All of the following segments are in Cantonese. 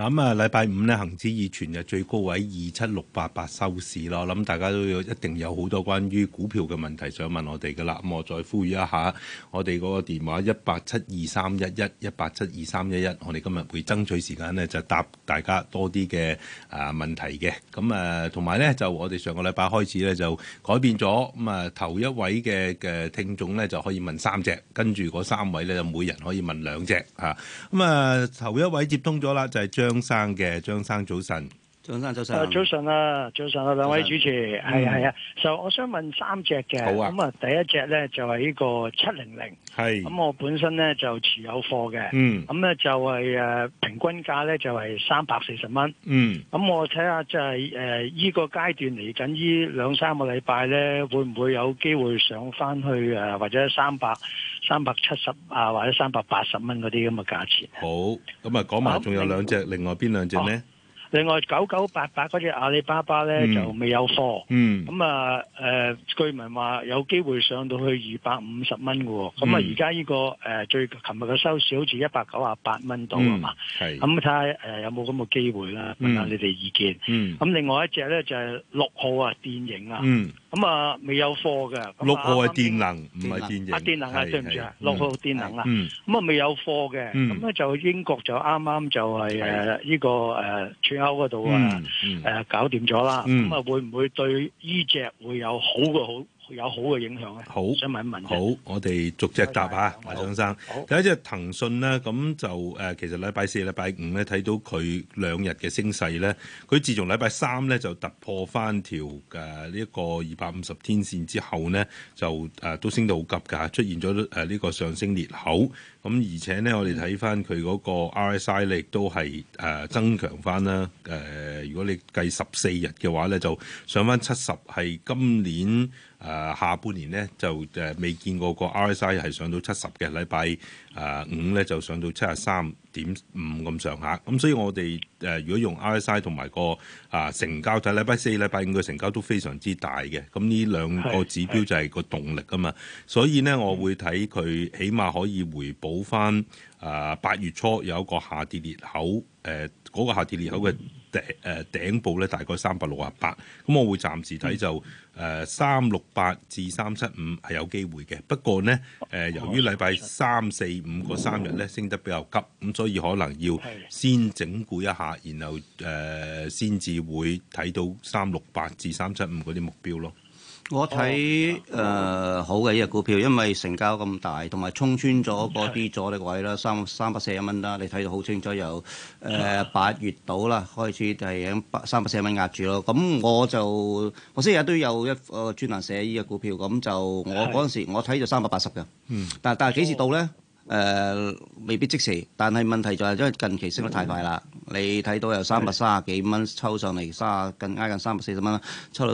咁啊，禮拜五咧，恒指以全日最高位27688收市咯。我諗大家都一定有好多關於股票嘅問題想問我哋噶啦。咁我再呼籲一下，我哋嗰個電話1872311，1872311，我哋今日會爭取時間咧，就答大家多啲嘅問題嘅。咁同埋咧，就我哋上個禮拜開始咧就改變咗，咁頭一位嘅聽眾咧就可以問3隻，跟住嗰3位咧就每人可以問2隻嚇。頭一位接通咗啦，就係張生嘅。張生早晨。 張生早晨。 早晨啊，早晨啊，兩位主持，係啊。就我想問3隻嘅。 好啊。 咁啊，第一隻咧就係呢個700。係。咁我本身咧就持有貨嘅。咁咧就係平均價咧就係340蚊。咁我睇下就係依個階段嚟緊呢2-3個禮拜咧，會唔會有機會上翻去或者370啊，或者380蚊嗰啲咁嘅價錢？ 好。咁講埋仲有2隻，另外邊2隻呢？ 另外9988嗰隻阿里巴巴咧就未有貨，據聞話有機會上到去250蚊嘅喎，咁而家呢個最琴日嘅收市好似198蚊到啊嘛，咁睇下有冇咁嘅機會啦，問下你哋意見。咁另外一隻咧就係6號啊，電影啊，咁未有貨嘅。 6號係電能，唔係電影。 電能啊，對唔住啊，6號電能啊，咁未有貨嘅，咁咧就英國就啱啱就係呢個出口嗰度搞掂咗啦，咁會唔會對呢隻會有好嘅影響咧？好，想問一問。 好，我哋逐隻答下，張生。第一隻騰訊咧，咁就其實禮拜4、禮拜5咧睇到佢2日嘅升勢咧，佢自從禮拜3咧就突破翻條呢一個250天線之後咧，就都升得好急㗎，出現咗呢個上升裂口。咁而且咧，我哋睇翻佢嗰個 RSI 咧，亦都係增強翻啦。如果你計14日嘅話咧，就上翻70，係今年下半年咧就未見過個 RSI 係上到70嘅。禮拜5咧就上到73.5咁上下。咁所以我哋如果用 RSI 同埋個成交睇，禮拜4、禮拜5嘅成交都非常之大嘅。咁呢2個指標就係個動力啊嘛。所以咧，我會睇佢起碼可以回補翻8月初有一個下跌裂口，嗰個下跌裂口嘅頂部咧大概368，咁我會暫時睇就368至375係有機會嘅。不過呢，由於禮拜3、4、5嗰3日咧升得比較急，咁所以可能要先整固一下，然後先至會睇到368至375嗰啲目標咯。 我睇好嘅呢隻股票，因為成交咁大，同埋衝穿咗嗰啲阻力位啦，341蚊啦，你睇到好清楚，由8月到啦，開始就係喺341蚊壓住咯。咁我星期日都有一個專欄寫呢隻股票，咁就我嗰陣時我睇就380嘅，但係幾時到咧？未必即時，但係問題就係因為近期升得太快啦。你睇到由330幾蚊抽上嚟，近340蚊，抽到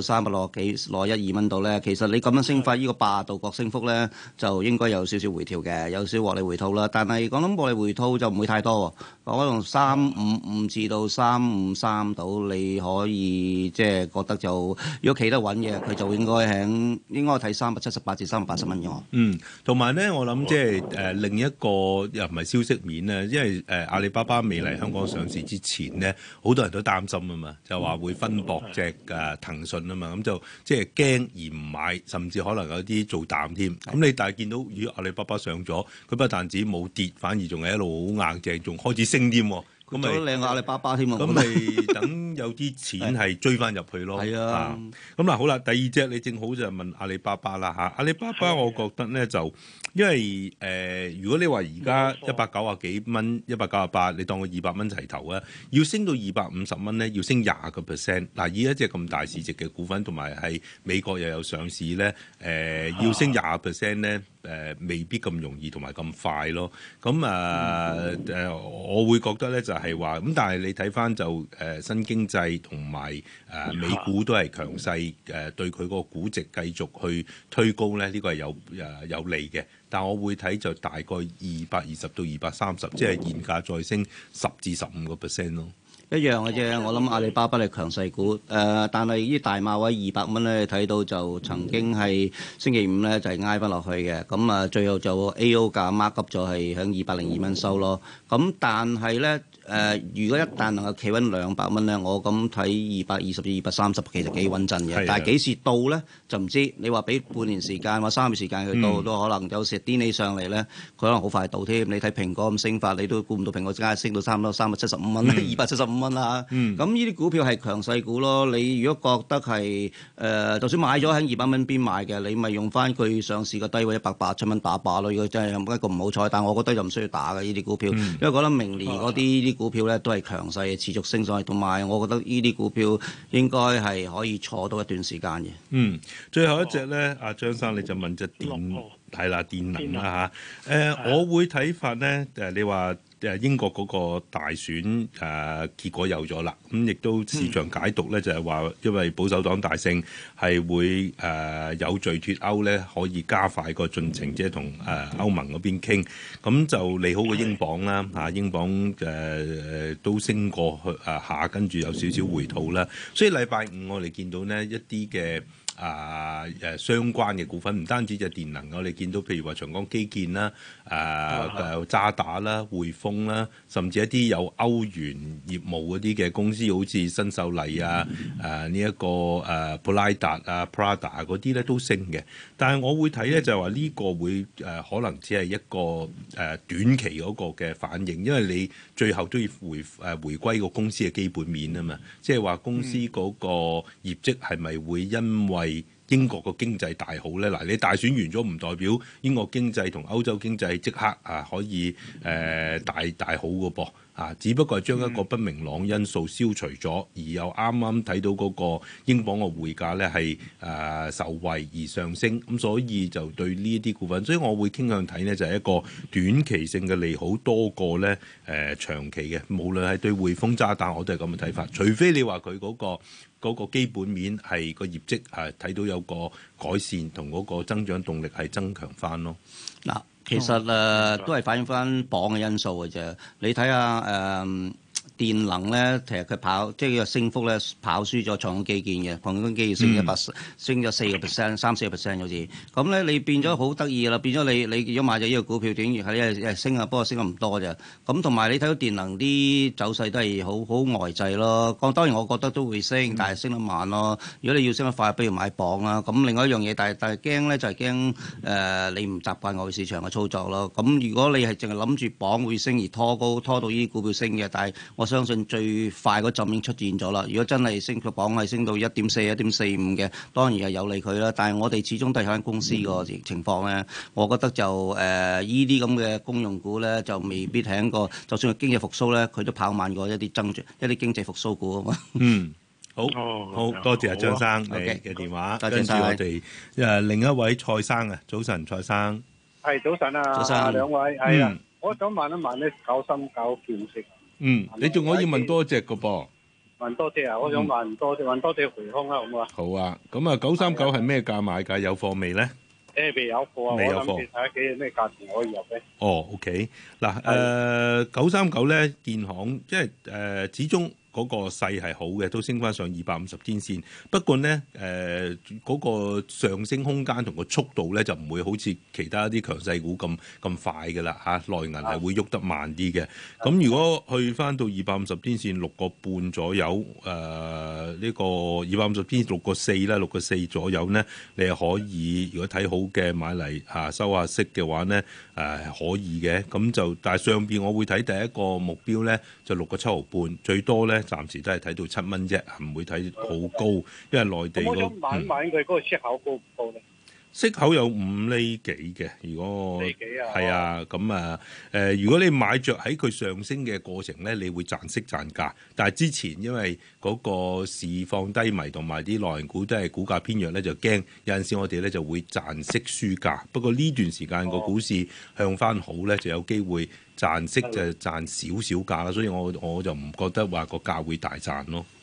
361-2蚊度咧。其實你咁樣升法，呢個80度角升幅咧，就應該有少少回調嘅，有少少獲利回吐啦。但係我諗獲利回吐就唔會太多喎，可能355至到353度，你可以即係覺得就如果企得穩嘅，佢就應該睇378至380蚊嘅。 同埋咧，我諗即係另一個又唔係消息面咧，因為阿里巴巴未嚟香港上市之前咧，好多人都擔心啊嘛，就話會分薄隻騰訊啊嘛，咁就即係驚而唔買，甚至可能有啲做淡添。咁你但係見到如果阿里巴巴上咗，佢不但止冇跌，反而仲係一路好硬淨，仲開始升添。咁咪靚過阿里巴巴添啊！ 咁咪等有啲錢係追翻入去咯。係啊。咁嗱好啦，第二隻你正好就問阿里巴巴啦嚇。阿里巴巴我覺得咧就因為如果你話而家190幾蚊、198，你當佢200蚊齊頭啊，要升到250蚊咧，要升20%。嗱，以一隻咁大市值嘅股份，同埋係美國又有上市咧，要升20%咧。未必咁容易同埋咁快咯，咁我會覺得咧就係話咁，但係你睇翻就新經濟同埋美股都係強勢，對佢個估值繼續去推高咧，呢個係有利嘅。但我會睇就大概220到230，即係現價再升10至15%咯。 一樣嘅啫。我諗阿里巴巴係強勢股，但係呢啲大馬位200蚊咧，睇到就曾經係星期五咧就係挨翻落去嘅。咁啊，最後就 A.O. 價 mark up 咗係響202蚊收咯。咁但係咧。如果一旦能夠企穩200蚊咧，我咁睇220至230其實幾穩陣嘅。但係幾時到咧就唔知。你話俾半年時間或3個月時間佢到，都可能有時癲起上嚟咧，佢可能好快到添。你睇蘋果咁升法，你都估唔到蘋果真係升到差唔多375蚊，275蚊啦。咁呢啲股票係強勢股咯。你如果覺得係就算買咗喺200蚊邊買嘅，你咪用翻佢上市嘅低位187蚊打靶咯。如果真係一個唔好彩，但係我覺得就唔需要打嘅呢啲股票，因為覺得明年嗰啲股票咧都係強勢嘅，持續升上去，同埋我覺得呢啲股票應該係可以坐到一段時間嘅。 最後一隻咧，阿張生你就問隻電係啦，電能啦嚇。我會睇法咧，你話英國嗰個大選結果有咗啦，咁亦都市場解讀咧就係話，因為保守黨大勝係會有序脫歐咧，可以加快個進程，即係同歐盟嗰邊傾，咁就利好個英鎊啦嚇，英鎊都升過去下，跟住有少少回吐啦，所以禮拜五我哋見到呢一啲嘅。相關嘅股份唔單止就電能，我哋見到譬如話長江基建啦、渣打啦、匯豐啦，甚至一啲有歐元業務嗰啲嘅公司，好似新秀麗呢一個普拉達Prada 嗰啲咧都升嘅。但係我會睇咧就係話呢個會可能只係一個短期嗰個嘅反應，因為你最後都要回歸個公司嘅基本面啊嘛，即係話公司嗰個業績係咪會因為英國個經濟大好咧？嗱，你大選完咗唔代表英國經濟同歐洲經濟即刻可以大好嘅噃。只不過係將一個不明朗因素消除咗，而又啱啱睇到嗰個英鎊嘅匯價咧係受惠而上升，咁所以就對呢一啲股份，所以我會傾向睇呢，就係一個短期性嘅利好多過咧長期嘅，無論係對匯豐渣打我都係咁嘅睇法，除非你話佢嗰個基本面係個業績睇到有個改善，同嗰個增長動力係增強翻咯。 嗱。其實都係反映翻磅嘅因素嘅啫。你睇下電能咧，其實佢跑即係個升幅咧跑輸咗長江基建嘅，長江基建升咗4%、3-4%好似。咁咧你變咗好得意啦，變咗你如果買咗呢個股票，短期係升啊，不過升得唔多啫。咁同埋你睇到電能啲走勢都係好呆滯咯。當然我覺得都會升，但係升得慢咯。如果你要升得快，不如買磅啦。咁另外一樣嘢，但係驚咧就係驚你唔習慣外匯市場嘅操作咯。咁如果你係淨係諗住磅會升而拖到呢啲股票升嘅，但係我相信最快嗰陣已經出現咗啦。如果真係升個磅係升到1.4、1.45嘅，當然係有利佢啦。但係我哋始終都係間公司個情況咧，我覺得就依啲咁嘅公用股咧，就未必係一個，就算係經濟復甦咧，佢都跑慢過一啲經濟復甦股啊嘛。 好多謝阿張生你嘅電話，跟住我哋另一位蔡生啊，早晨蔡生。 係早晨啊， 早晨兩位係啊，我想問一問咧939建設。 你仲可以問多隻嘅噃？ 問多隻啊！我想問多隻回空啦，好唔好啊？ 好啊，咁啊939係咩價買㗎？有貨未咧？ 未有貨啊！ 未有貨， 我諗住睇下幾咩價錢可以入咧。 OK 嗱939咧，建行即係始終。嗰個勢係好嘅，都升翻上250天線。不過呢，嗰個上升空間同個速度咧就唔會好似其他啲強勢股咁快嘅啦嚇。內銀係會喐得慢啲嘅。咁如果去翻到250天線6個半左右，呢個250天線6個4啦，6個4左右呢，你係可以如果睇好嘅買嚟收下息嘅話呢，可以嘅。咁就但係上邊我會睇第一個目標咧就6個7毫半，最多咧。暫時都係睇到7蚊啫，唔會睇好高，因為內地我想問佢嗰個息口高唔高咧？ 息口有5厘幾嘅，如果係啊，咁如果你買着喺佢上升嘅過程咧，你會賺息賺價。但係之前因為嗰個市況低迷同埋啲內銀股都係股價偏弱咧，就驚有陣時我哋咧就會賺息輸價。不過呢段時間個股市向翻好咧，就有機會賺息就賺少少價啦。所以我就唔覺得話個價會大賺咯。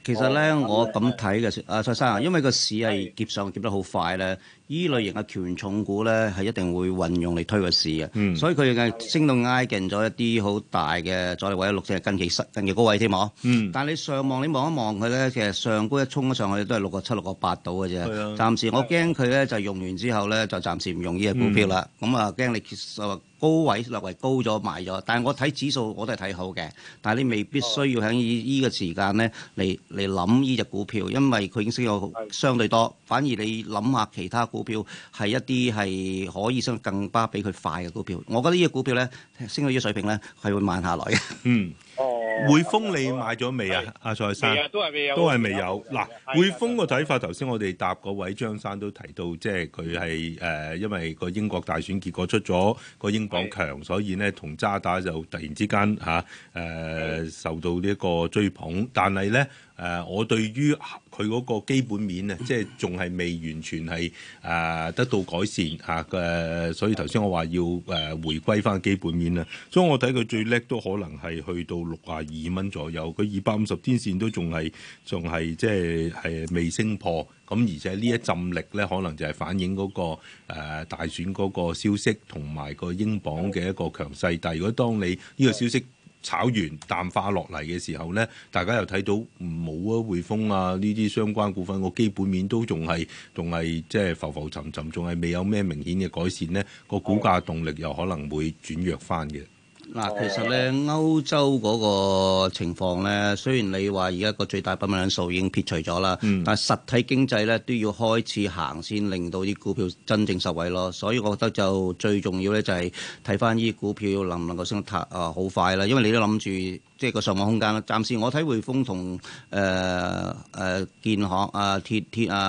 其實咧，我咁睇嘅，蔡生啊，因為個市係劫上劫得好快咧，依類型嘅權重股咧係一定會運用嚟推個市嘅，所以佢嘅升到挨近咗一啲好大嘅阻力位，6隻近期高位添喎。但係你上望你望一望佢咧，其實上高一衝咗上去都係6.7、6.8到嘅啫。暫時我驚佢咧就用完之後咧就暫時唔用呢隻股票啦。咁啊驚你高位略為高咗賣咗，但係我睇指數我都係睇好嘅。但係你未必需要喺呢個時間咧嚟諗呢隻股票，因為佢已經升咗相對多。反而你諗下其他股票係一啲係可以升更加比佢快嘅股票。我覺得呢隻股票咧升到呢個水平咧係會慢下來嘅。 匯豐你買咗未啊？阿蔡生都係未有， 都係未有。嗱，匯豐個睇法，頭先我哋答嗰位張生都提到，即係佢係因為個英國大選結果出咗個英鎊強，所以呢同渣打就突然之間受到呢一個追捧，但係呢。我對於佢嗰個基本面即係仲係未完全係得到改善所以頭先我話要回歸翻基本面啦。所以我睇佢最叻都可能係去到62蚊左右，佢250天線都仲係即係未升破。咁而且呢一陣力咧，可能就係反映嗰個大選嗰個消息同埋個英鎊嘅一個強勢。但係如果當你呢個消息炒完淡化落嚟嘅時候咧，大家又睇到冇匯豐呢啲相關股份個基本面都仲係即係浮浮沉沉，仲係未有咩明顯嘅改善咧，個股價動力又可能會轉弱翻嘅。 嗱，其實咧歐洲嗰個情況咧，雖然你話而家個最大不穩因素已經撇除咗啦，但係實體經濟咧都要開始行先，令到啲股票真正受惠咯。所以我覺得就最重要咧就係睇翻呢啲股票能唔能夠升得好快啦。因為你都諗住即係個上網空間啦。暫時我睇匯豐同建行鐵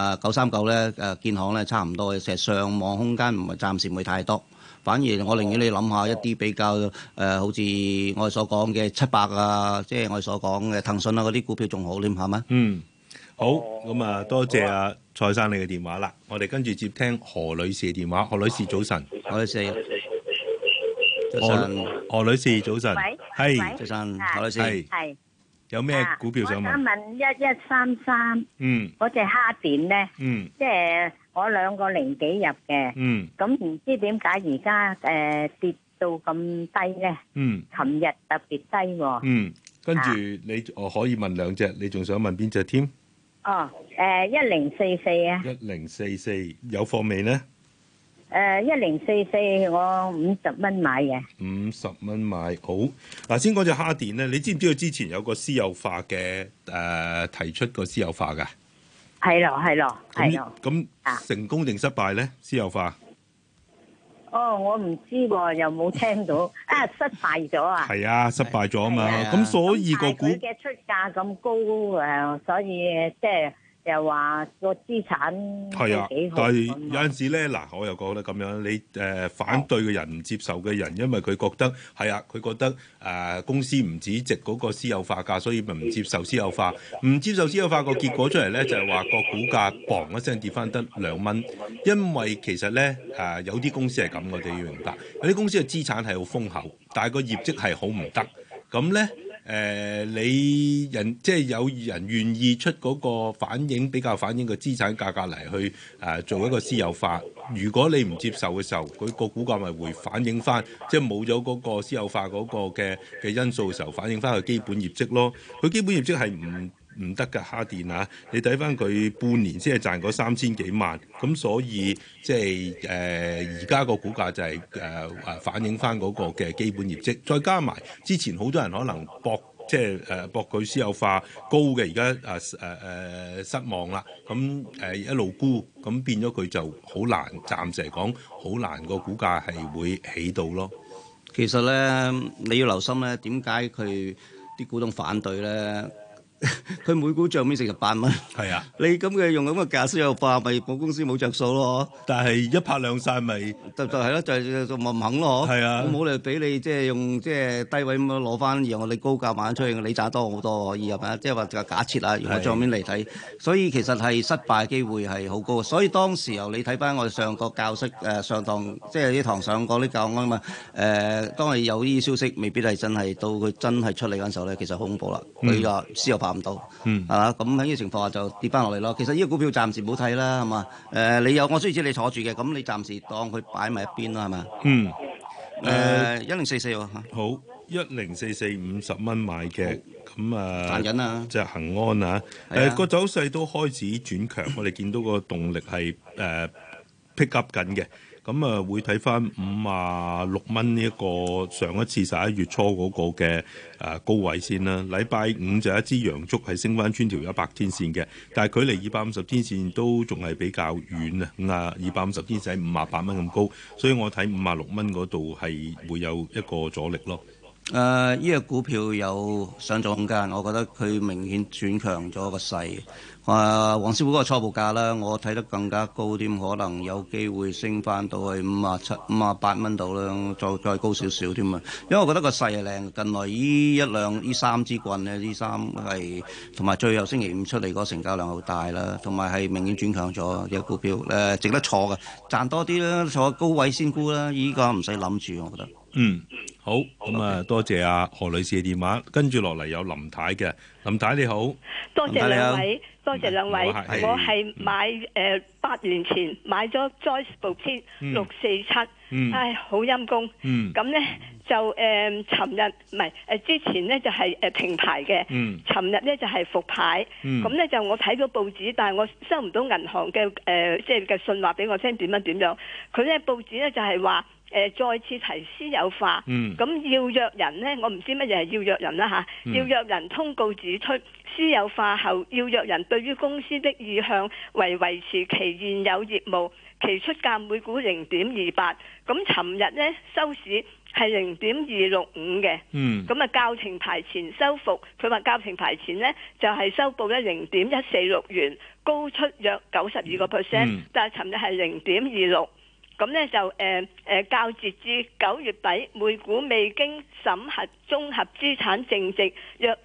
939咧建行咧差唔多嘅，其實上網空間暫時唔會太多。反而我寧願你諗下一啲比較好似我哋所講嘅700即係我哋所講嘅騰訊嗰啲股票仲好添，係咪？ 好，咁多謝蔡生你嘅電話啦。我哋跟住接聽何女士嘅電話。何女士早晨。 何女士， 何女士早晨。 喂， 係早晨，何女士。 係。 有咩股票想問？ 我想問1133，嗰隻蝦點咧，即係我2個零幾入嘅，咁唔知點解而家跌到咁低咧？琴日特別低喎。 跟住你我可以問2隻，你仲想問邊隻添 ？1044啊。 1044有貨未咧 ？1044我50蚊買嘅 ，50蚊買好。嗱，先講隻蝦電咧，你知唔知道之前有個私有化嘅提出個私有化㗎？ 係咯。 咁成功定失敗咧？私有化？ 我唔知喎，又冇聽到失敗咗啊！ 係啊，失敗咗啊嘛。咁所以個股佢嘅出價咁高所以即係。又話個資產係啊，但係有陣時咧，嗱，我又覺得咁樣，你反對嘅人唔接受嘅人，因為佢覺得係啊，佢覺得公司唔止值嗰個私有化價，所以咪唔接受私有化。唔接受私有化個結果出嚟咧，就係話個股價砰一聲跌翻得2蚊。因為其實咧有啲公司係咁，我哋要明白，有啲公司嘅資產係好豐厚，但係個業績係好唔得。咁咧。你即係有人願意出嗰個比較反映個資產價格嚟去做一個私有化。如果你唔接受嘅時候，佢個股價咪會反映翻，即係冇咗嗰個私有化嗰個嘅因素嘅時候，反映翻佢基本業績咯。佢基本業績係唔得㗎，蝦電啊！你睇翻佢半年先係賺嗰3000幾萬，咁所以即係而家個股價就係反映翻嗰個嘅基本業績，再加埋之前好多人可能搏佢私有化高嘅，而家失望啦，咁一路沽，咁變咗佢就好難，暫時嚟講好難個股價係會起到咯。 其實咧，你要留心咧，點解佢啲股東反對咧？佢每股帳面48蚊，係啊！你咁嘅用咁嘅價私有化，咪保公司冇着數咯？ 但係一拍兩散咪就係咯，就唔肯咯。係啊，我冇理由俾你即係用即係低位咁樣攞翻，然後我哋高價賣出去，你賺多好多可以係咪啊？即係話假設啊，用個帳面嚟睇，所以其實係失敗機會係好高。所以當時候你睇翻我哋上個教室上堂，即係啲堂上過啲教案啊嘛。當係有呢啲消息，未必係真係到佢真係出嚟嗰陣時候咧，其實好恐怖啦。佢個私有化化唔到，係嘛？咁喺呢個情況下就跌翻落嚟咯。其實呢個股票暫時冇睇啦，係嘛？你有我雖然知你坐住嘅，咁你暫時當佢擺埋一邊啦，係嘛？1044喎。 好，1044 50蚊買嘅。咁賺緊啊！ 隻恒安啊，個走勢都開始轉強，我哋見到個動力係pick up 緊嘅。咁會睇翻56蚊呢一個上一次11月初嗰個嘅高位先啦。禮拜五就一支陽燭係升翻穿條100天線嘅，但係距離250天線都仲係比較遠啊。250天線喺58蚊咁高，所以我睇56蚊嗰度係會有一個阻力咯。 呢個股票有上漲空間，我覺得佢明顯轉強咗個勢。黃師傅嗰個初步價啦，我睇得更加高啲，可能有機會升翻到去57、58蚊度啦，再高少少添啊！因為我覺得個勢係靚，近來呢三支棍咧，呢三係同埋最後星期五出嚟嗰個成交量好大啦，同埋係明顯轉強咗呢個股票，值得坐嘅，賺多啲啦，坐高位先沽啦，依家唔使諗住，我覺得。 好，咁多謝阿何女士嘅電話，跟住落嚟有林太嘅，林太你好， 多謝兩位，我係買8年前買咗 Joyce 部篇647，唉好陰公，咁呢就尋日唔係之前呢就係停牌嘅，尋日呢就係復牌，咁呢就我睇到報紙，但係我收唔到銀行嘅即係嘅信話俾我聽點樣，佢呢報紙呢就係話。再次提私有化，咁要約人呢，我唔知乜嘢係要約人啦嚇。要約人通告指出，私有化後要約人對於公司的意向為維持其現有業務，其出價每股0.28。咁尋日呢收市係0.265嘅，咁較停牌前收復，佢話較停牌前呢就係收報咧0.146元，高出約92%，但係尋日係0.26。咁呢就較截至9月底每股未經審核綜合資產淨值約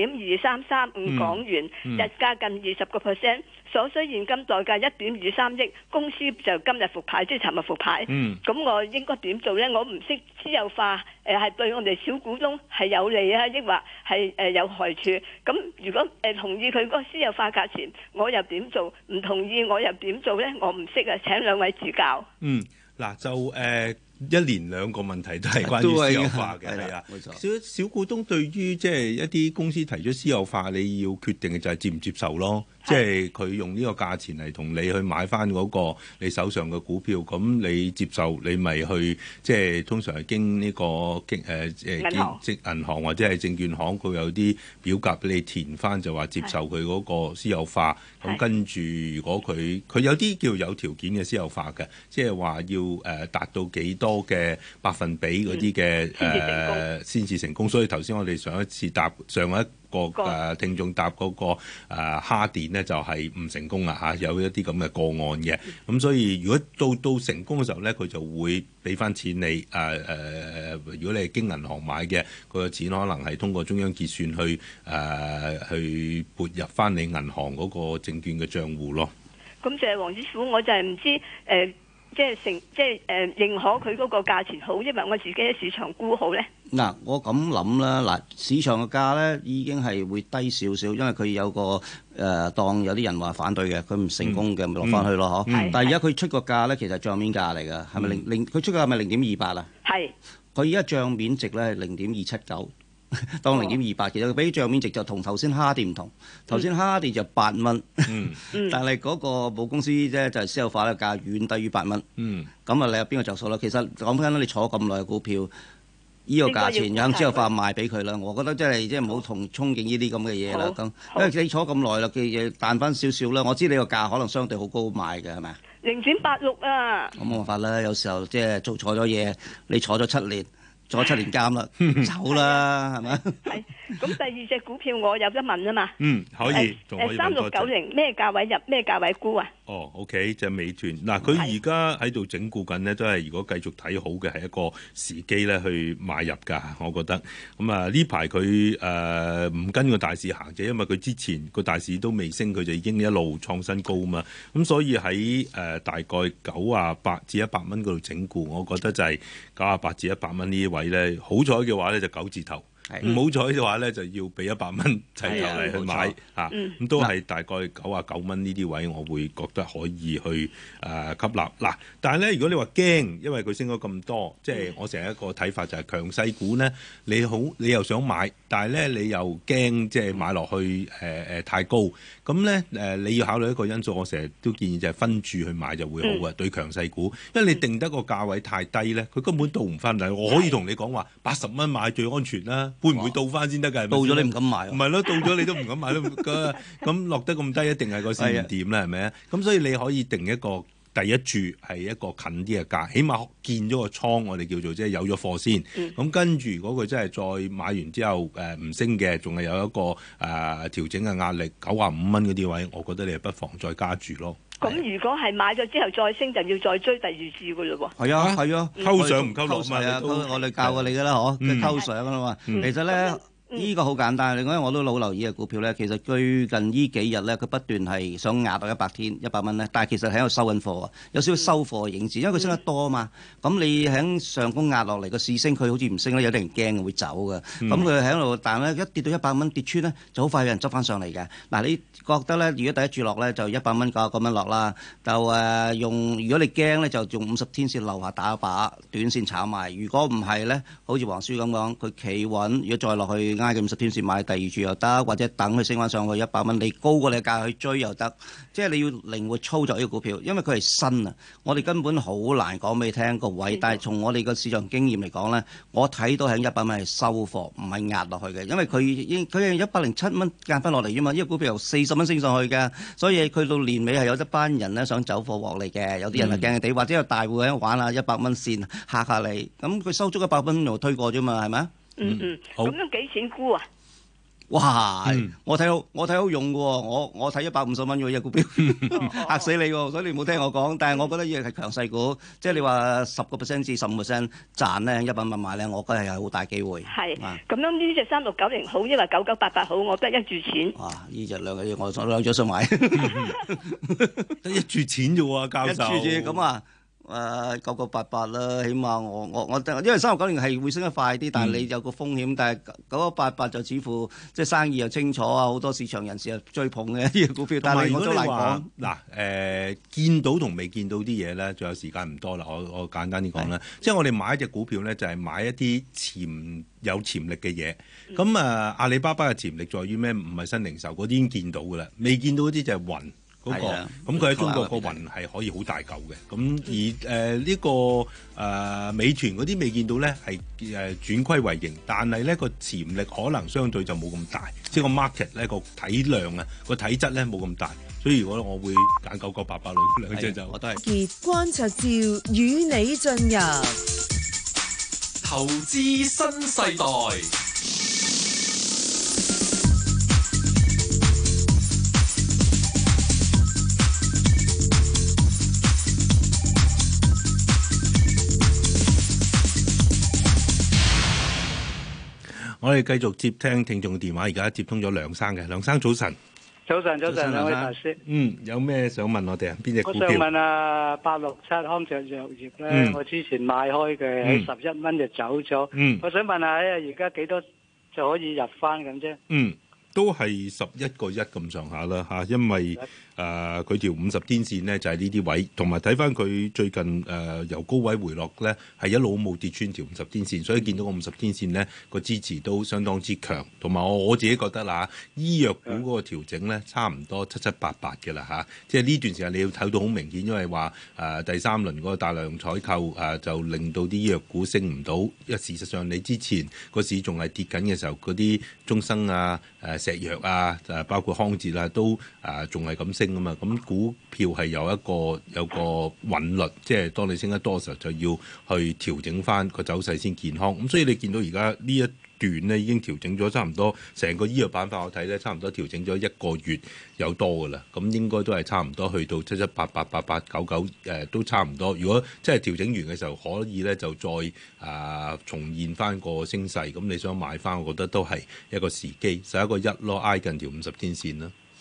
0.2335港元，日價近20%，所需現金代價1.23億，公司就今日復牌，即係尋日復牌。咁我應該點做呢？我唔識私有化係對我哋小股東係有利啊，抑或係有害處？咁如果同意佢嗰個私有化價錢，我又點做？唔同意我又點做呢？我唔識啊！請兩位指教。 嗱就一連兩個問題都係關於私有化嘅，係啊，小股東對於即係一啲公司提出私有化，你要決定嘅就係接唔接受咯。即係佢用呢個價錢嚟同你去買翻嗰個你手上嘅股票，咁你接受你咪去即係通常係經呢個銀行或者係證券行，佢有啲表格俾你填翻，就話接受佢嗰個私有化。咁跟住如果佢有啲叫有條件嘅私有化嘅，即係話要達到幾多嘅百分比嗰啲嘅先至成功。所以頭先我哋上一個聽眾答嗰個蝦電呢，就係唔成功啊嚇，有一啲咁嘅個案嘅。咁所以如果到成功嘅時候呢，佢就會俾翻錢你。如果你係經銀行買嘅，佢嘅錢可能係通過中央結算去撥入翻你銀行嗰個證券嘅帳戶咯。 咁就係黃師傅，我就係唔知即係認可佢嗰個價錢好，因為我自己喺市場估好咧。 嗱，我咁諗啦，嗱，市場嘅價咧已經係會低少少，因為佢有個當有啲人話反對嘅，佢唔成功嘅，咪落翻去咯，嗬。但係而家佢出個價咧，其實帳面價嚟㗎，係咪佢出個價係咪0.28啊？係。佢而家帳面值咧係0.279。當0.28，其實佢比帳面值就同頭先蝦電唔同。頭先蝦電就8蚊，但係嗰個母公司咧就係私有化嘅價遠低於8蚊。咁啊，你有邊個着數啦？其實講緊你坐咁耐嘅股票，依個價錢有私有化賣俾佢啦。我覺得即係唔好同憧憬呢啲咁嘅嘢啦。咁因為你坐咁耐啦嘅嘢彈翻少少啦。我知你個價可能相對好高賣嘅係咪啊？0.86啊！咁冇辦法啦，有時候即係做錯咗嘢，你坐咗7年。坐7年監啦，走啦，係咪？係。 咁第二隻股票我有得問啊嘛。 可以。 3690咩價位入？咩價位沽啊 ？OK， 就美團。嗱，佢而家喺度整固緊呢，都係如果繼續睇好嘅，係一個時機咧去買入㗎。我覺得。咁呢排佢唔跟個大市行啫，因為佢之前個大市都未升，佢就已經一路創新高嘛。咁所以喺大概98至100蚊嗰度整固，我覺得就係98至100蚊呢位咧，好彩嘅話咧就9字頭。 唔好彩嘅話咧，就要俾100蚊齊頭嚟去買嚇，咁都係大概99蚊呢啲位，我會覺得可以去吸納嗱。但係咧，如果你話驚，因為佢升咗咁多，即係我成日一個睇法就係強勢股咧，你又想買，但係咧你又驚即係買落去太高，咁咧你要考慮一個因素，我成日都建議就係分住去買就會好嘅，對強勢股，因為你定得個價位太低咧，佢根本到唔翻嚟。我可以同你講話80蚊買最安全啦。會唔會到翻先得㗎？ 到咗你唔敢買， 唔係咯，到咗你都唔敢買咯。咁落得咁低，一定係個市唔掂啦，係咪啊？咁所以你可以定一個第一注係一個近啲嘅價，起碼見咗個倉，我哋叫做即係有咗貨先。咁跟住如果佢真係再買完之後唔升嘅，仲係有一個調整嘅壓力，95蚊嗰啲位，我覺得你係不妨再加注咯。 咁如果係買咗之後再升，就要再追第二注㗎嘞喎。 係啊，係啊， 溝上唔溝落嘛， 我哋教過你㗎啦，嗬，溝上啊嘛。其實咧。呢個好簡單，另外我都老留意嘅股票咧，其實最近呢幾日咧，佢不斷係想壓到100蚊咧，但係其實喺度收緊貨啊，有少少收貨嘅影子，因為佢升得多啊嘛。咁你喺上攻壓落嚟個市升，佢好似唔升咧，有啲人驚會走嘅。咁佢喺度，但係咧一跌到100蚊跌穿咧，就好快有人執翻上嚟嘅。嗱，你覺得咧，如果第一注落咧就100蚊99蚊落啦，就用如果你驚咧就用50天線樓下打一把短線炒賣。如果唔係咧，好似黃書咁講，佢企穩，如果再落去挨嘅50天線買第二注又得，或者等佢升翻上去100蚊，你高過你嘅價去追又得。即係你要靈活操作呢個股票，因為佢係新啊，我哋根本好難講俾你聽個位。但係從我哋個市場經驗嚟講咧，我睇到喺100蚊係收貨，唔係壓落去嘅，因為佢係107蚊壓翻落嚟啫嘛。呢個股票由40蚊升上去嘅，所以佢到年尾係有一班人咧想走貨獲利嘅，有啲人係驚驚地，或者有大戶喺度玩下100蚊線嚇下你，咁佢收足100蚊又推過啫嘛，係咪啊？ 咁樣幾錢沽啊？ 哇！我睇好用嘅喎，我睇150蚊嘅一股票，嚇死你喎！所以你冇聽我講，但係我覺得呢個係強勢股，即係你話10%至15%賺咧，100蚊買咧，我覺得係好大機會。係咁樣呢隻3690好，因為9988好，我得一注錢。 哇！呢隻兩隻想買， 得一注錢啫喎，教授。 一注啫咁啊！9988啦，起碼我因為3690係會升得快啲，但係你有個風險，但係9988就似乎即係生意又清楚啊，好多市場人士又追捧嘅呢個股票。但係我都難講嗱見到同未見到啲嘢咧，仲有時間唔多啦。我簡單啲講啦，即係我哋買一隻股票咧，就係買一啲有潛力嘅嘢。咁阿里巴巴嘅潛力在於咩？唔係新零售嗰啲已經見到㗎啦，未見到嗰啲就係雲。咁佢喺中國個雲係可以好大嚿嘅，咁而呢個美團嗰啲未見到咧，係轉虧為盈，但係咧個潛力可能相對就冇咁大，即係個 market 咧個體量啊個體質咧冇咁大，所以如果我會揀9988兩隻就我都係。 傑關焯照與你進入投資新世代。 我哋繼續接聽眾電話，而家接通咗梁生嘅。梁生早晨。 早晨，兩位大師。 有咩想問我哋啊？邊隻股票？ 我想問867康爵藥業咧，我之前買開嘅喺11蚊就走咗。我想問下而家幾多就可以入翻咁啫？ 都係11個1咁上下啦嚇，因為佢條50天線呢就係呢啲位，同埋睇翻佢最近由高位回落咧，係一路冇跌穿條50天線，所以見到個50天線呢個支持都相當之強，同埋我自己覺得啦，醫藥股嗰個調整咧差唔多7788嘅啦嚇，即係呢段時間你要睇到好明顯，因為話第三輪嗰個大量採購就令到啲醫藥股升唔到，因為事實上你之前個市仲係跌緊嘅時候，嗰啲中生啊石藥啊包括康捷啊都仲係咁升啊嘛，咁股票係有個韻律，即係當你升得多嘅時候就要去調整翻個走勢先健康。咁所以你見到而家呢一段呢已經調整咗差唔多，成個醫藥板塊我睇咧差唔多調整咗1個月有多噶啦，咁應該都係差唔多去到77888899都差唔多。如果真係調整完嘅時候，可以咧就再重現翻個升勢，咁你想買翻，我覺得都係一個時機，11個1咯，挨近條50天線啦。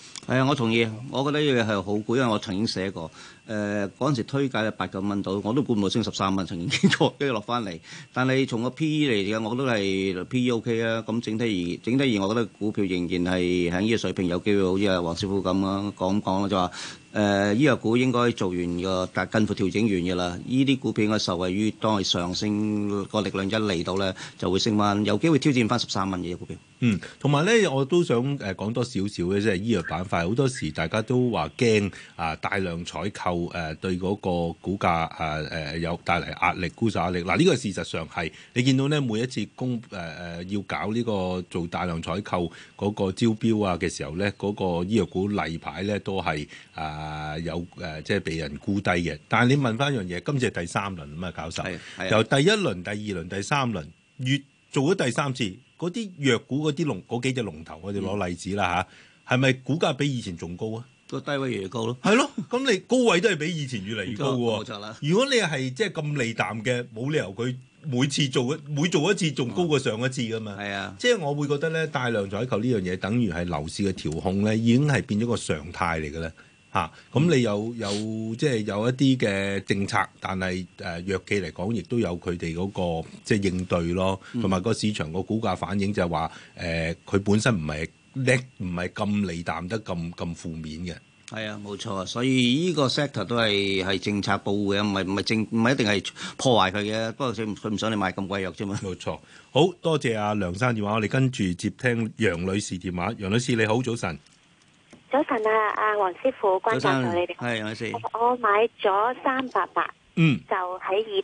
係啊，我同意。我覺得呢樣嘢係好估，因為我曾經寫過。嗰陣時推介8、9蚊到，我都估唔到升13蚊，曾經經過跟住落翻嚟。但係從個 P/E 嚟講，我都係 P/E OK 啊。咁整體而我覺得股票仍然係喺呢個水平有機會，好似阿黃師傅咁啦講啦，就話醫藥股應該做完個近乎調整完嘅啦。呢啲股票應該受惠於當佢上升個力量一嚟到咧，就會升翻，有機會挑戰翻13蚊嘅股票。 同埋咧，我都想講多少少嘅，即係醫藥板塊好多時大家都話驚大量採購對嗰個股價有帶嚟壓力、沽售壓力。嗱，呢個事實上係你見到咧，每一次要搞呢個做大量採購嗰個招標嘅時候咧，嗰個醫藥股例牌咧都係有即係被人沽低嘅。但係你問翻一樣嘢，今次係第3輪啊嘛，教授，由第1輪、第2輪、第3輪，越做咗第3次。嗰啲藥股嗰幾隻龍頭，我哋攞例子啦嚇，係咪股價比以前仲高啊？ 個低位越嚟越高咯。 係咯，咁你高位都係比以前越嚟越高喎。 冇錯啦。 如果你係即係咁利淡嘅，冇理由佢每做一次仲高過上一次噶嘛。 係啊， 即係我會覺得咧，大量採購呢樣嘢，等於係樓市嘅調控咧，已經係變咗個常態嚟嘅咧。咁你有即係有一啲嘅政策，但係藥企嚟講，亦都有佢哋嗰個即係應對咯，同埋個市場個股價反應就係話佢本身唔係咁利淡得咁負面嘅。 係啊，冇錯啊，所以呢個 sector 都係政策保護嘅，唔係一定係破壞佢嘅。不過佢唔想你買咁貴藥啫嘛。 冇錯，好多謝阿梁生電話，我哋跟住接聽楊女士電話。楊女士你好，早晨。 早晨啊，阿黃師傅，關教授你哋。 係楊女士。 我買咗388，就喺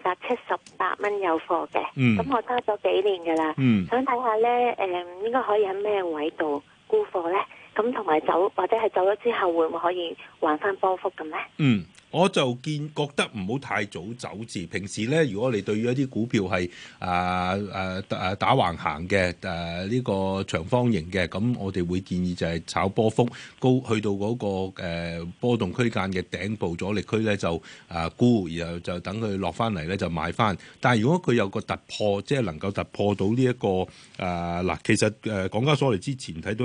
278蚊有貨嘅。咁我揸咗幾年㗎啦。想睇下咧，應該可以喺咩位度沽貨咧？咁同埋走或者係走咗之後，會唔會可以還翻波幅咁咧？ 我就覺得唔好太早走字。平時咧，如果你對於一啲股票係打橫行嘅呢個長方形嘅，咁我哋會建議就係炒波幅高，去到嗰個波動區間嘅頂部阻力區咧就沽，然後就等佢落翻嚟咧就買翻。但係如果佢有個突破，即係能夠突破到呢一個嗱，其實港交所嚟之前睇到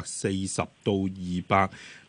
240到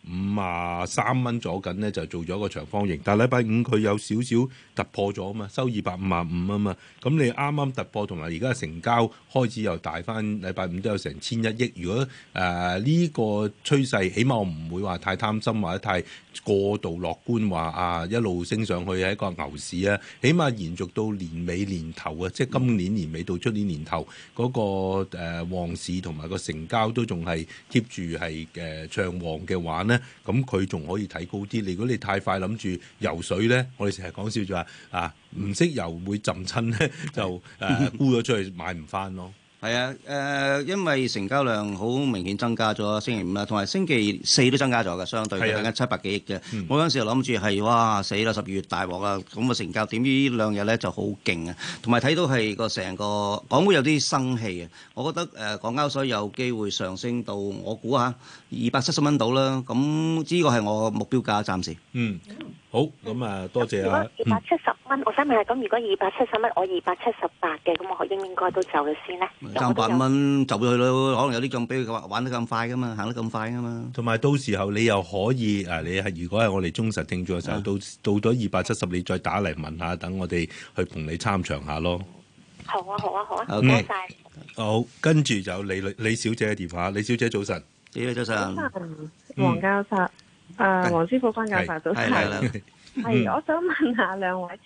253蚊左緊咧，就做咗個長方形。但係禮拜五佢有少少突破咗啊嘛，收255啊嘛。咁你啱啱突破，同埋而家成交開始又大翻，禮拜五都有成1001億。如果呢個趨勢，起碼我唔會話太貪心或者太過度樂觀，話一路升上去係一個牛市啊。起碼延續到年尾年頭啊，即係今年年尾到出年年頭嗰個旺市同埋個成交都仲係 keep 住係暢旺嘅話呢，咁佢仲可以睇高啲。如果你太快諗住游水咧，我哋成日講笑就話唔識游會浸親咧，就沽咗出去買唔翻咯。 係啊，因為成交量好明顯增加咗，星期五啦，同埋星期四都增加咗嘅，相對大概700幾億啫。我嗰陣時諗住係哇死啦，12月大鑊啦，咁嘅成交點知呢兩日咧就好勁啊，同埋睇到係個成個港股有啲生氣啊。我覺得港交所有機會上升到我估下270蚊到啦。咁呢個係我目標價暫時。 好，咁多謝啊。 如果270蚊，我想問下，咁如果270蚊，我278嘅，咁我應該都走咗先咧？ 爭8蚊走咗去咯，可能有啲咁俾佢玩得咁快噶嘛，行得咁快噶嘛。 同埋到時候你又可以你係如果係我哋忠實聽眾嘅時候，到咗270，你再打嚟問下，等我哋去同你參詳下咯。 好啊，唔該晒。 好，跟住就李小姐嘅電話。李小姐早晨。 早晨。 黃教授，黃師傅，關教授早晨。係，我想問下兩位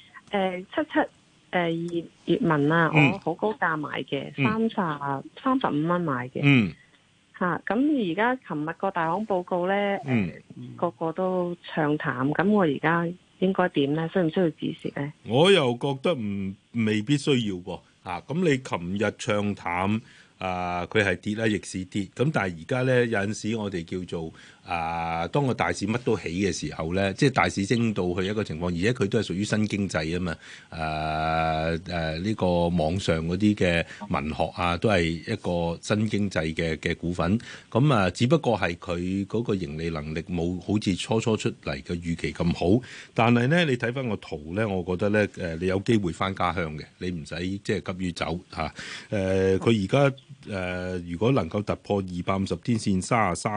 77閱文啊，我好高價買嘅，35蚊買嘅。咁而家琴日個大行報告咧，個個都唱淡，咁我而家應該點咧？需唔需要止蝕咧？ 我又覺得未必需要喎。咁你琴日唱淡。佢係跌啦，逆市跌。咁但係而家咧有陣時我哋叫做當個大市乜都起嘅時候咧，即係大市升到去一個情況，而且佢都係屬於新經濟啊嘛。呢個網上嗰啲嘅文學都係一個新經濟嘅股份。咁只不過係佢嗰個盈利能力冇好似初出嚟嘅預期咁好。但係咧，你睇翻個圖咧，我覺得咧你有機會翻家鄉嘅，你唔使即係急於走嚇。佢而家如果能夠突破250天線33個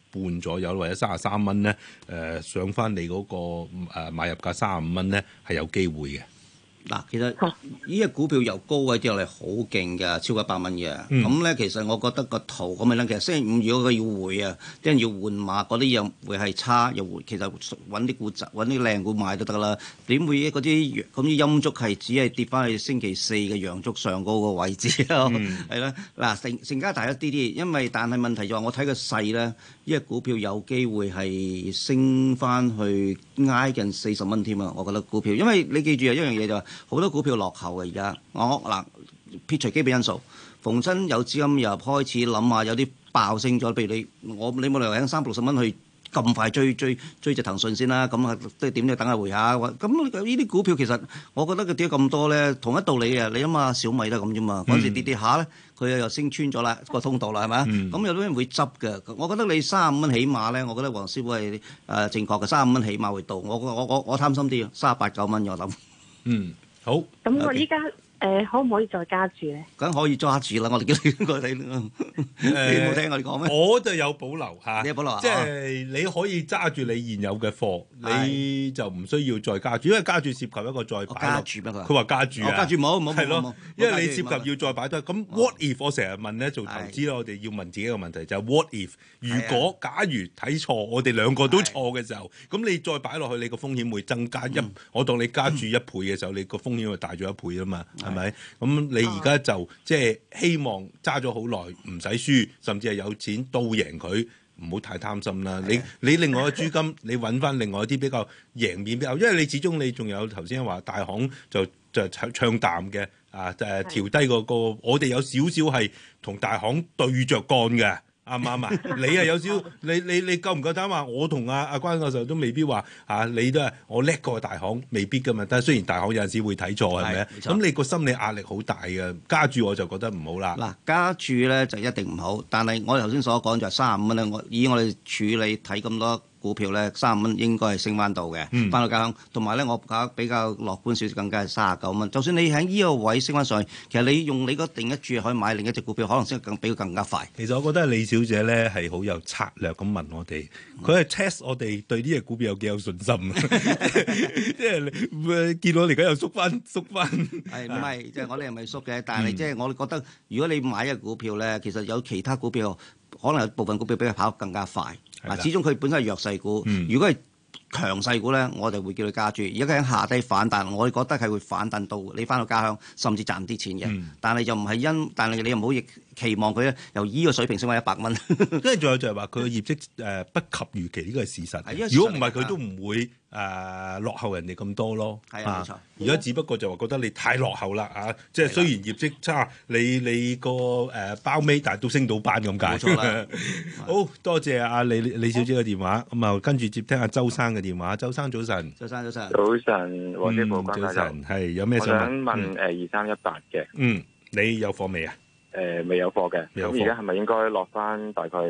半左右，或者33蚊咧，上翻你嗰個買入價35蚊咧，係有機會嘅。 嗱，其實呢隻股票由高位跌落嚟好勁㗎，超過100蚊嘅。咁咧，其實我覺得個圖咁樣咧，其實星期五如果佢要回啊，啲人要換馬，嗰啲又會係差又回。其實揾啲股揾啲靚股買都得啦。點會嗰啲咁啲陰燭係只係跌翻去星期四嘅陽燭上高個位置咯？係啦，嗱成交大一啲啲，因為但係問題就係我睇個勢咧，呢隻股票有機會係升翻去挨近40蚊添啊！我覺得股票，因為你記住啊，一樣嘢就係。好多股票落後嘅而家，撇除基本因素，逢親有資金入開始諗下，有啲爆升咗，譬如你冇理由喺360蚊去咁快追隻騰訊先啦，咁啊都點都要等下回下。咁呢啲股票其實我覺得佢跌咁多咧，同一道理啊！你諗下小米都係咁啫嘛，嗰陣時跌下咧，佢又升穿咗啦個通道啦，係咪啊？咁有啲人會執嘅。我覺得你35蚊起碼咧，我覺得黃師傅係正確嘅，35蚊起碼會到。我貪心啲，38、9蚊我諗。 好， 咁我依家可唔可以再加注咧？ 梗可以揸住啦！我哋叫你過嚟，你冇聽我哋講咩？ 我就有保留嚇， 你有保留， 即係你可以揸住你現有嘅貨，你就唔需要再加注，因為加注涉及一個再擺加注咩？ 佢話加注啊， 加注冇， 係咯，因為你涉及要再擺多。咁 what if 我成日問咧做投資咧，我哋要問自己一個問題就係 what if 如果假如睇錯，我哋兩個都錯嘅時候，咁你再擺落去，你個風險會增加我當你加注1倍嘅時候，你個風險會大咗1倍啊嘛，係咪？咁你而家就即係希望揸咗好耐唔使輸，甚至係有錢倒贏佢，唔好太貪心啦。你另外嘅資金，你揾翻另外一啲比較贏面比較，因為你始終你仲有頭先話大行就唱淡嘅調低個我哋有少少係同大行對着幹嘅。啱唔啱啊？你係有少你夠唔夠膽話？我同阿關教授都未必話你都係我叻過大行，未必噶嘛。但係雖然大行有陣時會睇錯，係咪？咁你個心理壓力好大嘅，加注我就覺得唔好啦。嗱， 加注咧就一定唔好。但係我頭先所講就係35蚊咧，以我哋處理睇咁多股票咧，35蚊應該係升翻到嘅，翻到家鄉。同埋咧，我比較樂觀少少，更加係39蚊。就算你喺呢個位升翻上去，其實你用你個定一注可以買另一隻股票，可能升比佢更加快。 其實我覺得李小姐咧係好有策略咁問我哋，佢係 test 我哋對呢隻股票有幾有信心。即係你見到我哋而家又縮翻。 係唔係？即係我哋係咪縮嘅？但係即係我哋覺得，如果你買一隻股票咧，其實有其他股票可能有部分股票比佢跑得更加快。始終佢本身係弱勢股，如果係強勢股咧，我就會叫佢加注。而家佢喺下低反彈，我哋覺得係會反彈到你翻到家鄉，甚至賺啲錢嘅。但係就唔係但係你又唔好期望佢咧由依個水平升翻100蚊。 跟住仲有就係話佢嘅業績不及預期，呢個係事實。如果唔係佢都唔會落後人哋咁多咯。 係啊，冇錯。 而家只不過就話覺得你太落後啦即係雖然業績差，你個包尾，但係都升到班咁解。冇錯啦。好多謝阿李小姐嘅電話，咁啊跟住接聽阿周生嘅電話。周生早晨。 早晨，黃師傅， 早晨，係有咩想問2318嘅。 你有貨未啊？ 未有貨嘅。咁而家係咪應該落翻大概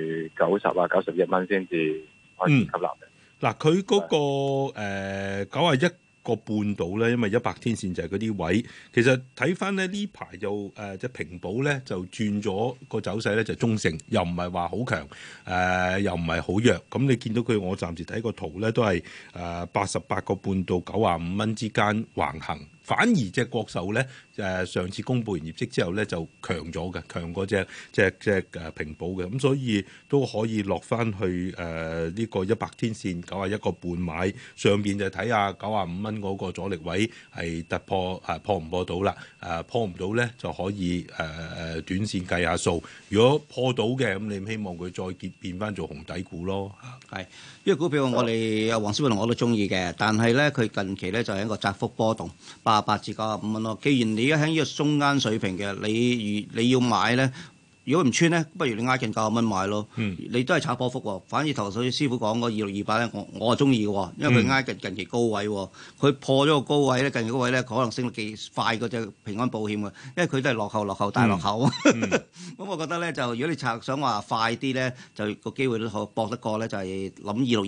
90、91蚊先至開始吸納嘅？ 嗱，佢嗰個91個半度咧，因為100天線就係嗰啲位。其實睇翻咧呢排就即係平保咧就轉咗個走勢咧就中性，又唔係話好強，又唔係好弱。咁你見到佢，我暫時睇個圖咧都係88個半到95蚊之間橫行。反而隻國壽咧上次公佈完業績之後咧就強咗嘅，強過隻平保嘅，咁所以都可以落翻去呢個100天線91個半買，上邊就睇下95蚊嗰個阻力位係突破破唔破到啦？破唔到咧就可以短線計下數。如果破到嘅，咁你希望佢再變翻做紅底股咯。 係，因為股票我哋黃師傅同我都中意嘅，但係咧佢近期咧就係一個窄幅波動，88至95蚊咯。既然你而家喺呢個中間水平嘅，你要買咧，如果唔穿咧，不如你挨近90蚊買咯。你都係炒波幅喎。反而頭先師傅講嗰2628咧，我係中意嘅喎，因為佢挨近期高位喎。佢破咗個高位咧，近期高位咧，可能升得幾快嗰隻平安保險嘅，因為佢都係落後大落後。咁我覺得咧，就如果你想話快啲咧，就個機會都好搏得過咧，就係諗2628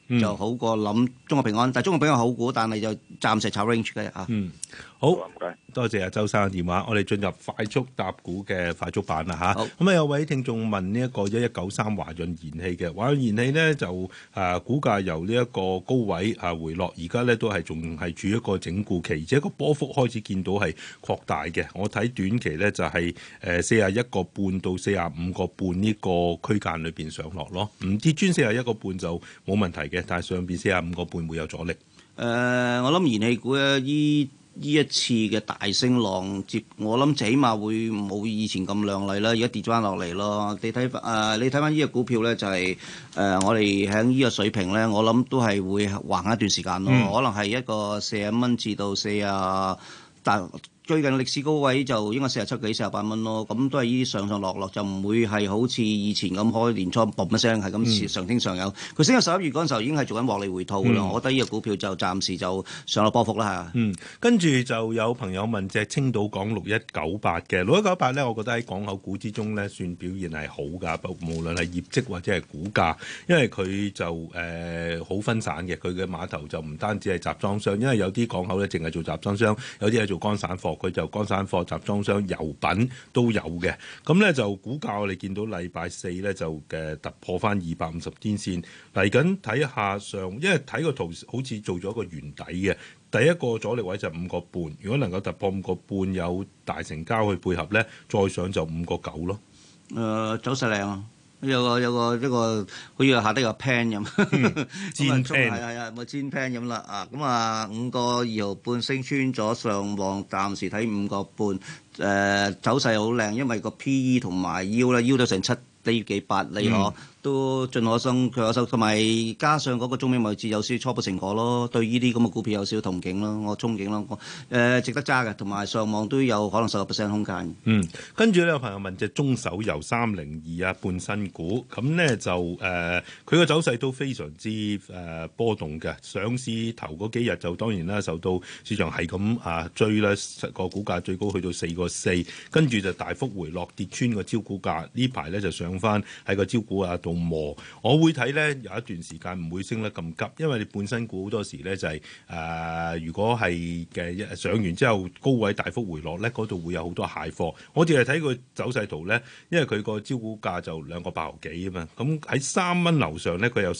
就好過諗中國平安。但係中國平安好股，但係就暫時炒 range 嘅嚇。 好，多謝阿周生嘅電話。我哋進入快速答股嘅快速版啦嚇。咁有位聽眾問呢一個1193華潤燃氣嘅華潤燃氣呢，就股價由呢一個高位回落，而家呢都係仲係處於一個整固期，而且個波幅開始見到係擴大嘅。我睇短期呢就係41個半到45個半呢個區間裏邊上落咯，唔跌穿41個半就冇問題嘅，但係上邊45個半會有阻力。 我諗燃氣股咧呢一次嘅大升浪我諗起碼會冇以前咁亮麗啦，而家跌翻落嚟咯。你睇翻呢隻股票咧，就係我哋喺呢個水平咧，我諗都係會橫一段時間咯。可能係一個40蚊至到40，但最近歷史高位就應該47幾48蚊咯，咁都係呢啲上上落落，就唔會係好似以前咁開年初嘣一聲係咁上升上有。佢升到11月嗰陣時候已經係做緊獲利回吐㗎啦。我覺得呢個股票就暫時就上落波幅啦嚇。 跟住就有朋友問隻青島港6198嘅6198咧，我覺得喺港口股之中咧算表現係好㗎，無論係業績或者係股價，因為佢就好分散嘅，佢嘅碼頭就唔單止係集裝箱，因為有啲港口咧淨係做集裝箱，有啲係做乾散貨。佢就乾散貨、集裝箱、油品都有嘅。咁咧就股價我哋見到禮拜四咧就突破翻250天線，嚟緊睇下上，因為睇個圖好似做咗個圓底嘅。第一個阻力位就5個半，如果能夠突破5個半，有大成交去配合咧，再上就5個9咯。 走勢靚啊！有個好似下低個 pan 咁， 煎 pan 係啊，咪煎 pan 咁啦啊！咁啊5個2毫半升穿咗上望，暫時睇5個半，走勢好靚，因為個 PE 同埋 U 咧 U 到成7厘幾8厘可。都盡可生，佢可收，同埋加上嗰個中美貿易戰有少少初步成果咯，對呢啲咁嘅股票有少少憧憬咯，我憧憬咯，值得揸嘅，同埋上網都有可能10%空間。 跟住咧有朋友問隻中手游302半新股，咁咧就佢個走勢都非常之波動嘅，上市頭嗰幾日就當然啦，受到市場係咁追啦，個股價最高去到4個4，跟住就大幅回落，跌穿個招股價，呢排咧就上翻喺個招股價度。我會睇咧有一段時間唔會升得咁急，因為你本身股好多時咧就係如果係嘅上完之後高位大幅回落咧，嗰度會有好多蟹貨。我淨係睇佢走勢圖咧，因為佢個招股價就2個8毫幾啊嘛，咁喺3蚊樓上咧，佢有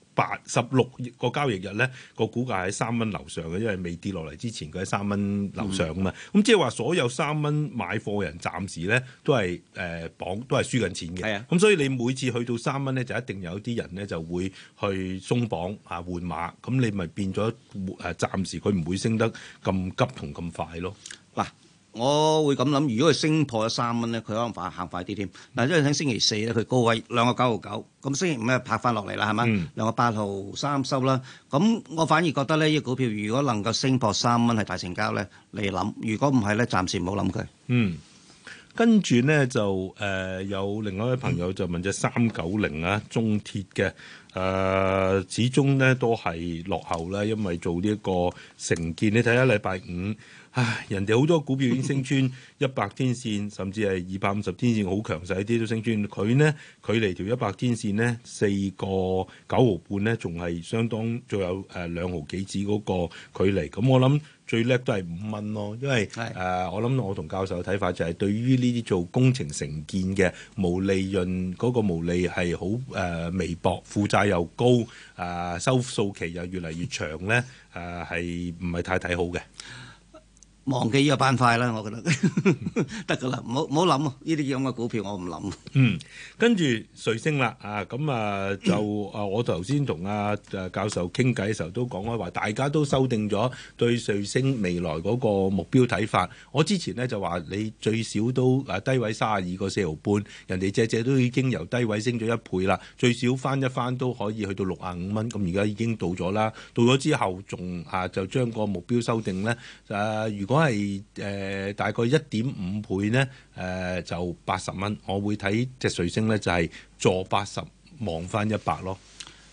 16個交易日咧，個股價喺3蚊樓上嘅，因為未跌落嚟之前佢喺3蚊樓上啊嘛。咁即係話所有3蚊買貨人暫時咧都係都係輸緊錢嘅。咁所以你每次去到3蚊咧，就一定有啲人咧就會去鬆綁換馬，咁你咪變咗暫時佢唔會升得咁急同咁快咯。 嗱。我會咁諗，如果佢升破咗3蚊咧，佢可能行快啲添。嗱，因為喺星期四咧，佢高位2個9毫9，咁星期五咧拍翻落嚟啦，係嘛？2個8毫3收啦。咁我反而覺得咧，呢個股票如果能夠升破3蚊係大成交咧，你諗；如果唔係咧，暫時唔好諗佢。 跟住咧就有另外一位朋友就問隻390中鐵嘅。始終咧都係落後啦，因為做呢一個承建，你睇下禮拜五，人哋好多股票已經升穿100天線，甚至係250天線好強勢啲都升穿。佢呢距離條100天線呢4個9毫半呢，仲係相當，仲有2毫幾子嗰個距離。咁我諗最叻都係5蚊咯，因為我諗我同教授嘅睇法就係對於呢啲做工程承建嘅毛利潤嗰個毛利係好微薄，負債又高，收數期又越嚟越長咧，係唔係太睇好嘅？ 忘記呢個板塊啦，我覺得得㗎啦，唔好諗啊！呢啲咁嘅股票我唔諗。 跟住瑞星啦，就我頭先同教授傾偈嘅時候都講開話，大家都修訂咗對瑞星未來嗰個目標睇法。我之前咧就話你最少都低位32個4毫半，人哋隻都已經由低位升咗1倍啦，最少翻一翻都可以去到65蚊。咁而家已經到咗啦，到咗之後仲就將個目標修訂咧，如果係大概1.5倍咧，就80蚊。我會睇隻瑞星咧就係坐80望翻100咯。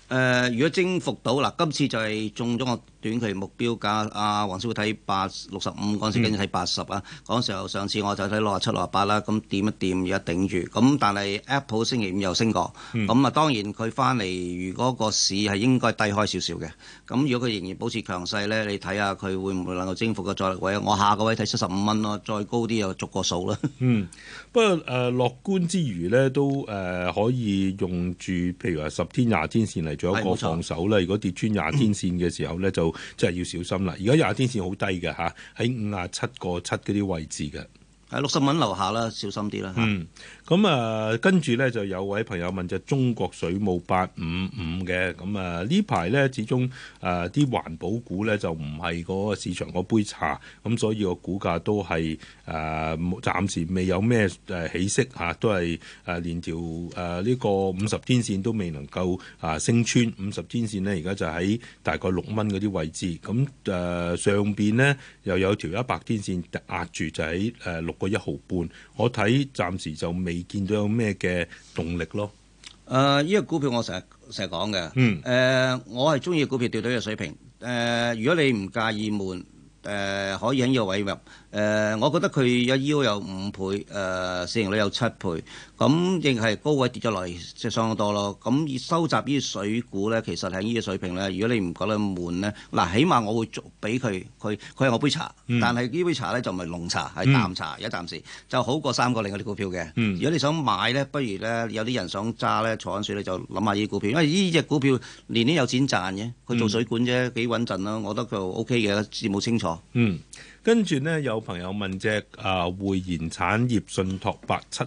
如果征服到嗱，今次就係中咗個短期目標價，黃師傅睇65嗰陣時，跟住睇80啊。嗰陣時候上次我就睇67、68啦，咁掂一掂而家頂住。咁但係 Apple 星期五又升過，咁當然佢翻嚟，如果個市係應該低開少少嘅。咁如果佢仍然保持強勢咧，你睇下佢會唔會能夠征服個阻力位？我下個位睇75蚊咯，再高啲又逐個數啦。 不過樂觀之餘咧，都可以用住譬如話10天、20天線嚟做一個防守啦。如果跌穿20天線嘅時候咧，就真係要小心啦。而家20天線好低嘅嚇，喺57.7嗰啲位置嘅。 係60蚊樓下啦，小心啲啦嚇。 咁跟住咧就有位朋友問就中國水務855嘅，咁呢排咧始終啲環保股咧就唔係嗰個市場嗰杯茶，咁所以個股價都係暫時未有咩起色嚇，都係連條呢個50天線都未能夠升穿50天線咧，而家就喺大概6蚊嗰啲位置，咁上邊呢又有條100天線壓住，就喺6個1毫半，我睇暫時就未見到有咩嘅動力咯。 呢個股票我成日講嘅。我係中意股票掉到呢個水平。如果你唔介意悶，可以喺呢個位入。我覺得佢有 yield 有5倍，市盈率有7倍，咁亦係高位跌咗落嚟，即係相當多咯。咁收集呢啲水股咧，其實係呢個水平咧。如果你唔覺得悶咧，嗱，起碼我會俾佢係我杯茶，但係呢杯茶咧就唔係濃茶，係淡茶，而家暫時就好過3個另外啲股票嘅。如果你想買咧，不如咧有啲人想揸咧，坐緊水咧就諗下呢啲股票，因為呢隻股票年年有錢賺嘅，佢做水管啫，幾穩陣咯。我覺得就 OK 嘅，字冇清楚。 跟住呢，有朋友問隻匯賢產業信託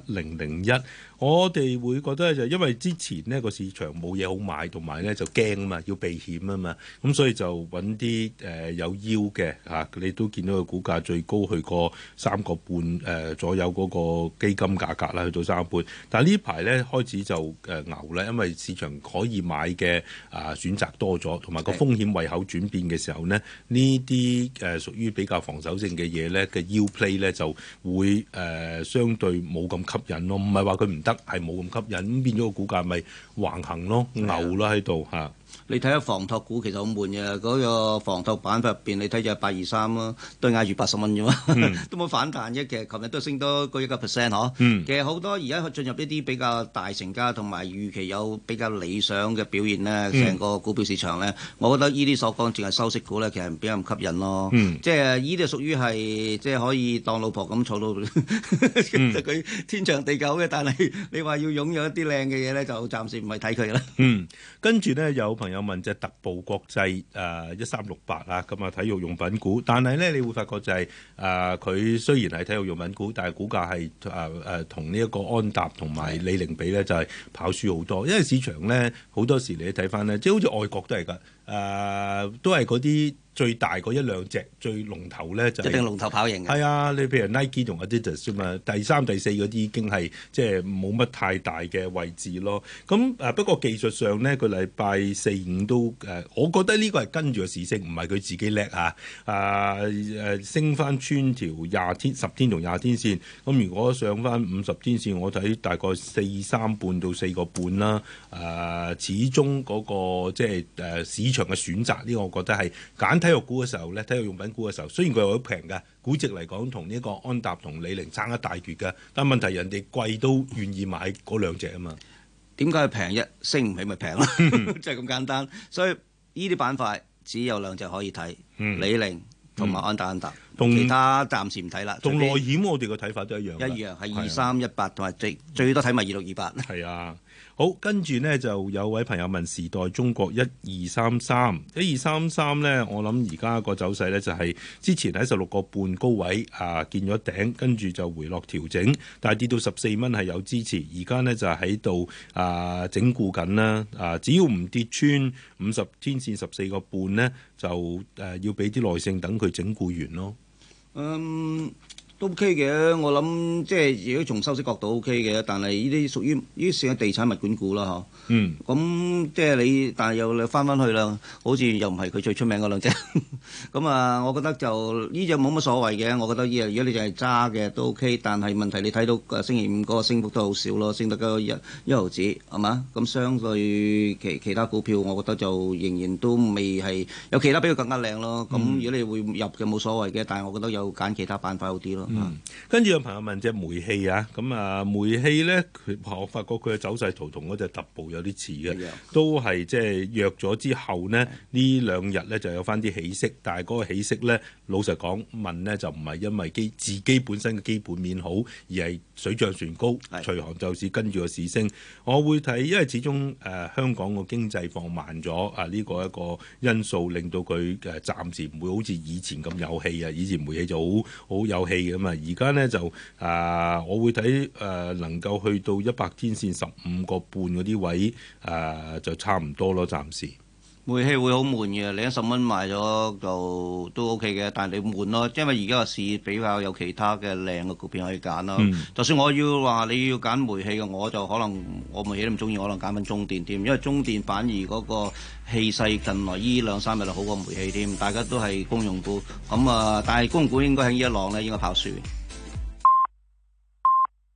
87001，我哋會覺得就因為之前呢個市場冇嘢好買，同埋呢就驚啊嘛，要避險啊嘛，咁所以就揾啲有腰嘅嚇，你都見到個股價最高去過3個半左右嗰個基金價格啦，去到3個半，但係呢排呢開始就牛啦，因為市場可以買嘅選擇多咗，同埋個風險胃口轉變嘅時候呢，呢啲屬於比較防守性嘅嘢咧嘅 yield play 咧就會相對冇咁吸引咯，唔係話佢唔得，係冇咁吸引，咁變咗個股價咪橫行咯，牛啦喺度嚇。 你睇下房託股其實好悶嘅，嗰個房託板塊入邊，你睇就823咯，都係挨住80蚊啫嘛，都冇反彈啫。其實琴日都升多個1%嗬。其實好多而家進入一啲比較大成交同埋預期有比較理想嘅表現咧，成個股票市場咧，我覺得呢啲所講淨係收息股咧，其實比較唔吸引咯。即係呢啲屬於係即係可以當老婆咁坐到，其實佢天長地久嘅，但係你話要擁有一啲靚嘅嘢咧，就暫時唔係睇佢啦。 跟住咧有朋友問隻特步國際1368啊，咁啊體育用品股，但係咧你會發覺就係佢雖然係體育用品股，但係股價係同呢一個安踏同埋李寧比咧就係跑輸好多，因為市場咧好多時你睇翻咧，即係好似外國都係㗎，都係嗰啲最大嗰1-2隻最龍頭咧就一定龍頭跑贏嘅。 係啊，你譬如 Nike 同 Adidas 啫嘛，第3、第4嗰啲已經係即係冇乜太大嘅位置咯。咁不過技術上呢，佢禮拜4、5都我覺得呢個係跟住個市升，唔係佢自己叻嚇。升翻穿條10天同20天線。咁如果上翻50天線，我睇大概4.3半到4個半啦。始終嗰個即係市場嘅選擇呢個，我覺得係揀體育股嘅時候咧，體育用品股嘅時候，雖然佢好平嘅估值嚟講，同呢個安踏同李寧爭一大橛嘅，但問題人哋貴都願意買嗰2隻啊嘛。 點解平啫？升唔起咪平咯，就係咁簡單。所以呢啲板塊只有2隻可以睇，李寧同埋安踏，其他暫時唔睇啦。 同內險我哋嘅睇法都一樣。 一樣係2318同埋最多睇埋2628。 係啊。好，跟住呢就有位朋友問時代中國1233呢，我諗而家個走勢呢就係之前喺16個半高位見咗頂，跟住就回落調整，但係跌到14蚊係有支持，而家呢就喺度整固緊啦。只要唔跌穿50天線14個半呢，就要俾啲耐性等佢整固完咯。 都 OK 嘅，我諗即係如果從收息角度 OK 嘅，但係呢啲屬於呢啲算係地產物管股啦嗬。咁即係你，但係又翻返去啦，好似又唔係佢最出名嗰兩隻。咁啊，我覺得就呢隻冇乜所謂嘅。我覺得呢，如果你就係揸嘅都 OK，但係問題你睇到星期五嗰個升幅都好少咯，升得嗰一毫子係嘛？咁相對其他股票，我覺得就仍然都未係有其他比佢更加靚咯。咁如果你會入嘅冇所謂嘅，但係我覺得有揀其他板塊好啲咯。 跟住有朋友問隻煤氣啊，咁啊煤氣咧，我發覺佢嘅走勢圖同嗰隻特步有啲似嘅，都係即係弱咗之後呢，呢兩日咧就有翻啲起色，但係嗰個起色咧，老實講問呢就唔係因為自己本身嘅基本面好，而係水漲船高，隨行就市跟住個市升。我會睇，因為始終香港個經濟放慢咗啊，呢個一個因素令到佢暫時唔會好似以前咁有氣啊，以前煤氣就好有氣嘅嘛，而家呢，就我會睇能夠去到100天線15個半嗰啲位就差唔多咯，暫時。 煤氣會好悶嘅，你10蚊賣咗就都 OK 嘅，但係你悶咯，因為而家個市比較有其他嘅靚嘅股票可以揀咯。就算我要話你要揀煤氣嘅，我就可能我煤氣都唔中意，可能揀翻中電添，因為中電反而嗰個氣勢近來依2-3日就好過煤氣添，大家都係公用股咁但係公用股應該喺呢一浪咧應該跑輸。